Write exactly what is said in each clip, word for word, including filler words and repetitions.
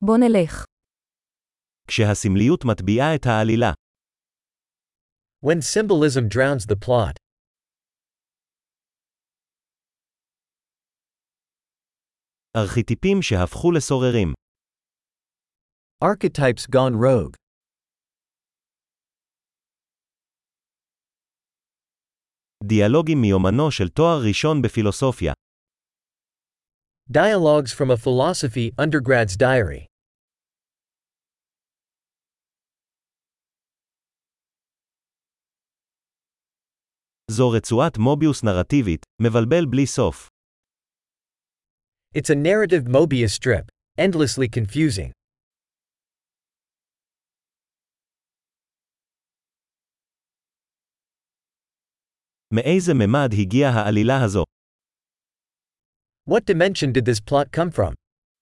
בוא נלך. כשהסמליות מטביעה את העלילה. When symbolism drowns the plot. ארכיטיפים שהפכו לסוררים. Archetypes gone rogue. דיאלוגים מיומנו של תואר ראשון בפילוסופיה. Dialogues from a philosophy undergrad's diary. זו רצועת מוביוס נרטיבית, מבלבל בלי סוף. It's a narrative Mobius strip, endlessly confusing. מאיזה ממד הגיעה העלילה הזו? What dimension did this plot come from?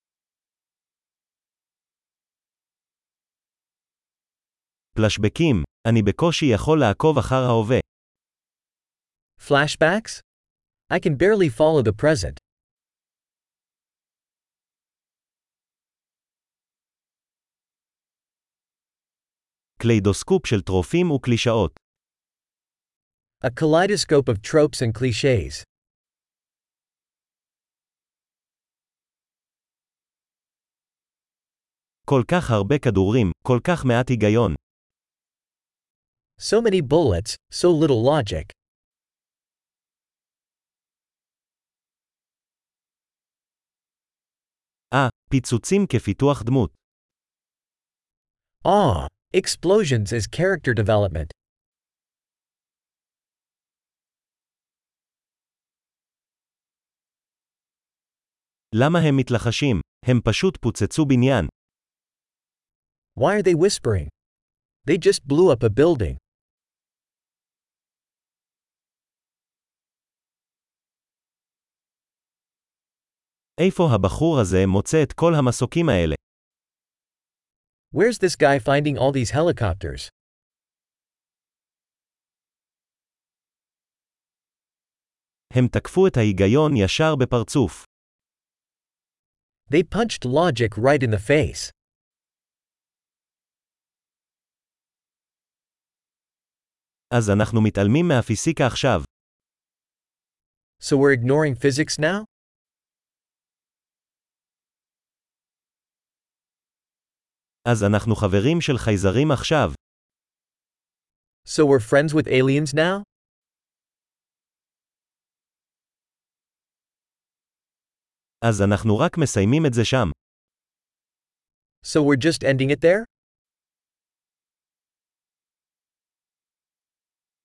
פלשבקים, אני בקושי יכול לעקוב אחר ההווה. Flashbacks? I can barely follow the present. קליידוסקופ של טרופים וקלישאות. A kaleidoscope of tropes and clichés. כל כך הרבה כדורים, כל כך מעט היגיון. So many bullets, so little logic. אה, פיצוצים כפיתוח דמות. Ah, explosions as character development. למה הם מתלחשים? הם פשוט פוצצו בניין. Why are they whispering? They just blew up a building. איפה הבחור הזה מוצא את כל המסוקים האלה? Where's this guy finding all these helicopters? הם תקפו את ההיגיון ישר בפרצוף. They punched logic right in the face. אז אנחנו מתעלמים מהפיזיקה עכשיו. So we're ignoring physics now? אז אנחנו חברים של חייזרים עכשיו. So we're friends with aliens now? אז אנחנו רק מסיימים את זה שם. So we're just ending it there?